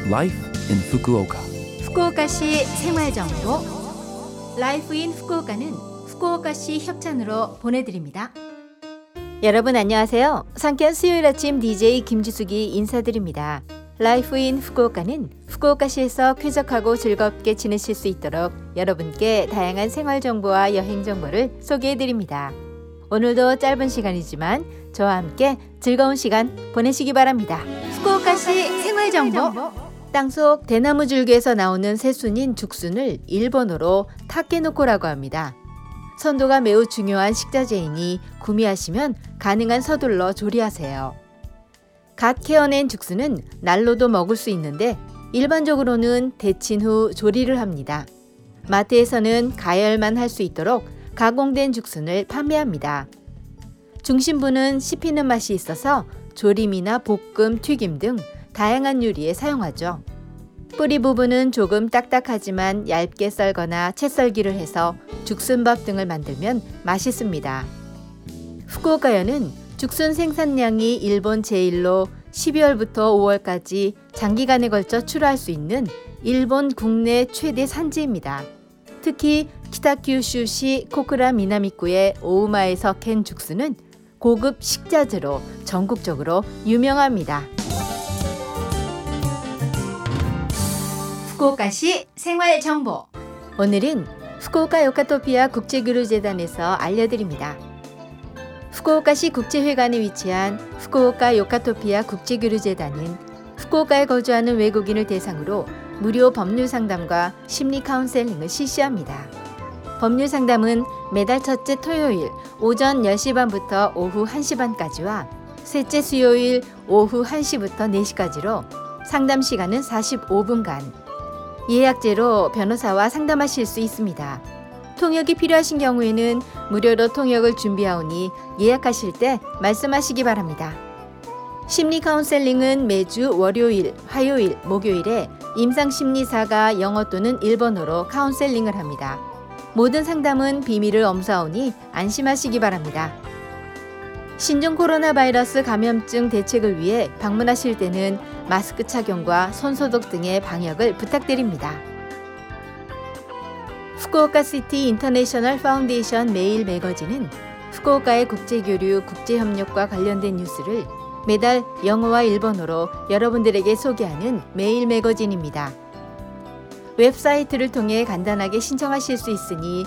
Life in Fukuoka. 후쿠오카시 생활정보 라이프 인 후쿠오카는 후쿠오카시 협찬으로 보내드립니다. 여러분 안녕하세요. 상쾌한 수요일 아침 DJ 김지숙이 인사드립니다. 라이프 인 후쿠오카는 후쿠오카시에서 쾌적하고 즐겁게 지내실 수 있도록 여러분께 다양한 생활정보와 여행정보를 소개해드립니다. 오늘도 짧은 시간이지만 저와 함께 즐거운 시간 보내시기 바랍니다. 후쿠오카시 생활정보 땅속 대나무 줄기에서 나오는 새순인 죽순을 일본어로 타케노코라고 합니다. 선도가 매우 중요한 식자재이니 구매하시면 가능한 서둘러 조리하세요. 갓 캐어낸 죽순은 날로도 먹을 수 있는데 일반적으로는 데친 후 조리를 합니다. 마트에서는 가열만 할 수 있도록 가공된 죽순을 판매합니다. 중심부는 씹히는 맛이 있어서 조림이나 볶음, 튀김 등 다양한 요리에 사용하죠. 뿌리 부분은 조금 딱딱하지만 얇게 썰거나 채 썰기를 해서 죽순밥 등을 만들면 맛있습니다. 후쿠오카현은 죽순 생산량이 일본 제1로 12월부터 5월까지 장기간에 걸쳐 출하할 수 있는 일본 국내 최대 산지입니다. 특히 키타큐슈시 코쿠라 미나미구의 오우마에서 캔 죽순은 고급 식자재로 전국적으로 유명합니다. 후쿠오카시 생활정보 오늘은 후쿠오카 요카토피아 국제교류재단에서 알려드립니다. 후쿠오카시 국제회관에 위치한 후쿠오카 요카토피아 국제교류재단은 후쿠오카에 거주하는 외국인을 대상으로 무료 법률 상담과 심리 카운셀링을 실시합니다. 법률 상담은 매달 첫째 토요일 오전 10시 반부터 오후 1시 반까지와 셋째 수요일 오후 1시부터 4시까지로 상담 시간은 45분간 예약제로 변호사와 상담하실 수 있습니다. 통역이 필요하신 경우에는 무료로 통역을 준비하오니 예약하실 때 말씀하시기 바랍니다. 심리 카운셀링은 매주 월요일, 화요일, 목요일에 임상심리사가 영어 또는 일본어로 카운셀링을 합니다. 모든 상담은 비밀을 엄수하오니 안심하시기 바랍니다. 신종 코로나 바이러스 감염증 대책을 위해 방문하실 때는 마스크 착용과 손소독 등의 방역을 부탁드립니다. 후쿠오카 시티 인터내셔널 파운데이션 매일 매거진은 후쿠오카의 국제교류, 국제협력과 관련된 뉴스를 매달 영어와 일본어로 여러분들에게 소개하는 매일 매거진입니다. 웹사이트를 통해 간단하게 신청하실 수 있으니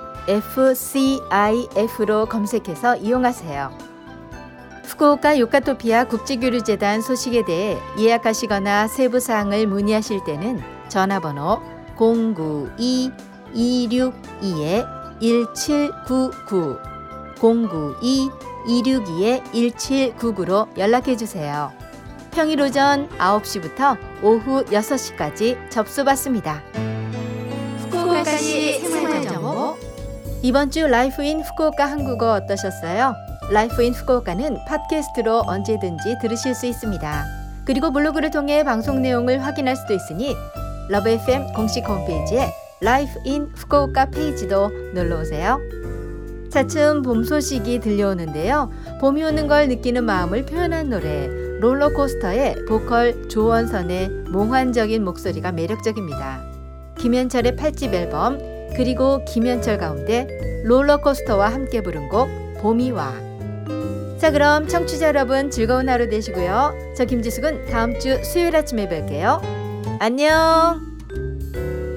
FCIF로 검색해서 이용하세요. 후쿠오카 요카토피아 국제교류재단 소식에 대해 예약하시거나 세부사항을 문의하실 때는 전화번호 092-262-1799 092-262-1799로 연락해주세요. 평일 오전 9시부터 오후 6시까지 접수받습니다. 후쿠오카시 생활정보 이번 주 라이프 인 후쿠오카 한국어 어떠셨어요? 라이프 인 후쿠오카는 팟캐스트로 언제든지 들으실 수 있습니다. 그리고 블로그를 통해 방송 내용을 확인할 수도 있으니 러브 FM 공식 홈페이지에 라이프 인 후쿠오카 페이지도 놀러오세요. 차츰 봄 소식이 들려오는데요. 봄이 오는 걸 느끼는 마음을 표현한 노래 롤러코스터의 보컬 조원선의 몽환적인 목소리가 매력적입니다. 김현철의 8집 앨범 그리고 김현철 가운데 롤러코스터와 함께 부른 곡 봄이 와. 자 그럼 청취자 여러분 즐거운 하루 되시고요. 저 김지숙은 다음 주 수요일 아침에 뵐게요. 안녕.